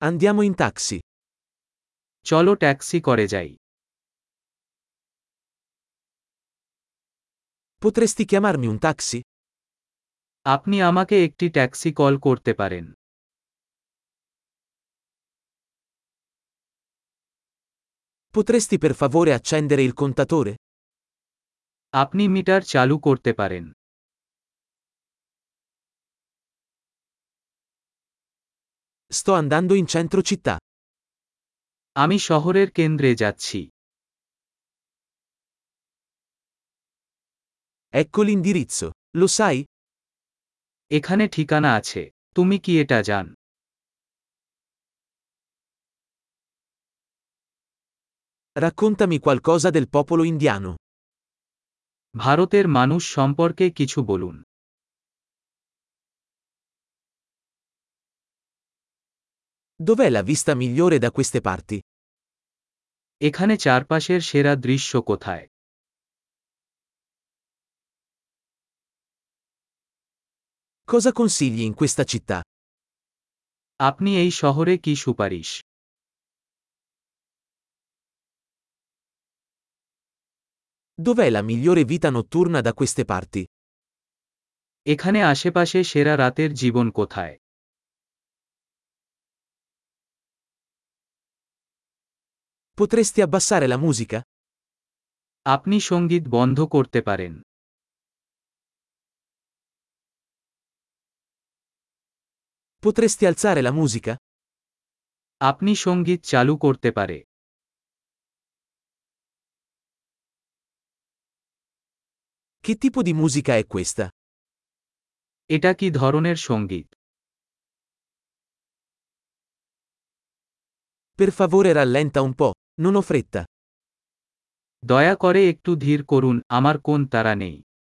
Andiamo in taxi. চলো ট্যাক্সি করে যাই। Potresti chiamarmi un taxi? আপনি আমাকে একটি ট্যাক্সি কল করতে পারেন। Potresti per favore accendere il contatore? আপনি মিটার চালু করতে পারেন। Sto andando in centro città. আমি শহরের কেন্দ্রে যাচ্ছি। Ecco l'indirizzo. Lo sai? এখানে ঠিকানা আছে। তুমি কি এটা জান? Raccontami qualcosa del popolo indiano. ভারতের মানুষ সম্পর্কে কিছু বলুন। Dov'è la vista migliore da queste parti? এখানে চারপাশের সেরা দৃশ্য কোথায়? Cosa consigli in questa città? আপনি এই শহরে কি সুপারিশ? Dov'è la migliore vita notturna da queste parti? এখানে আশেপাশে সেরা রাতের জীবন কোথায়? Potresti abbassare la musica? আপনি সঙ্গীত বন্ধ করতে পারেন। Potresti alzare la musica? আপনি সঙ্গীত চালু করতে পারে। Che tipo di musica è questa? এটা কি ধরনের সঙ্গীত? Per favore rallenta un po', non ho fretta. দয়া করে একটু ধীর করুন, আমার কোন তাড়া নেই।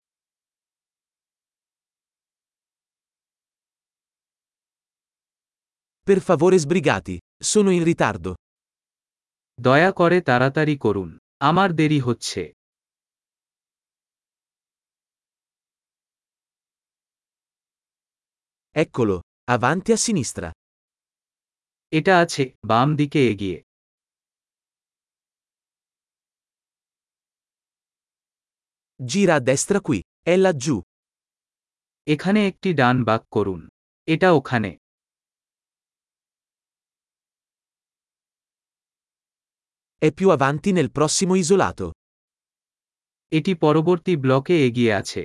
Per favore sbrigati, sono in ritardo. দয়া করে তাড়াতাড়ি করুন, আমার দেরি হচ্ছে। Eccolo, avanti a sinistra. এটা আছে, বাম দিকে এগিয়ে। Gira a destra qui, è laggiù. এখানে একটি ডান বাঁক করুন। এটা ওখানে। È più avanti nel prossimo isolato. এটি পরবর্তী ব্লকে এগিয়ে আছে।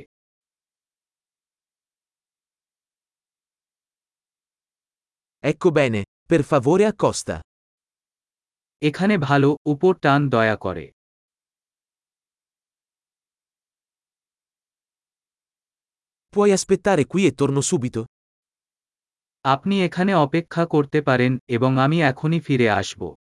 Ecco bene, per favore accosta. এখানে ভালো, উপর টান দয়া করে। Puoi aspettare qui e torno subito? আপনি এখানে অপেক্ষা করতে পারেন এবং আমি এখনই ফিরে আসব।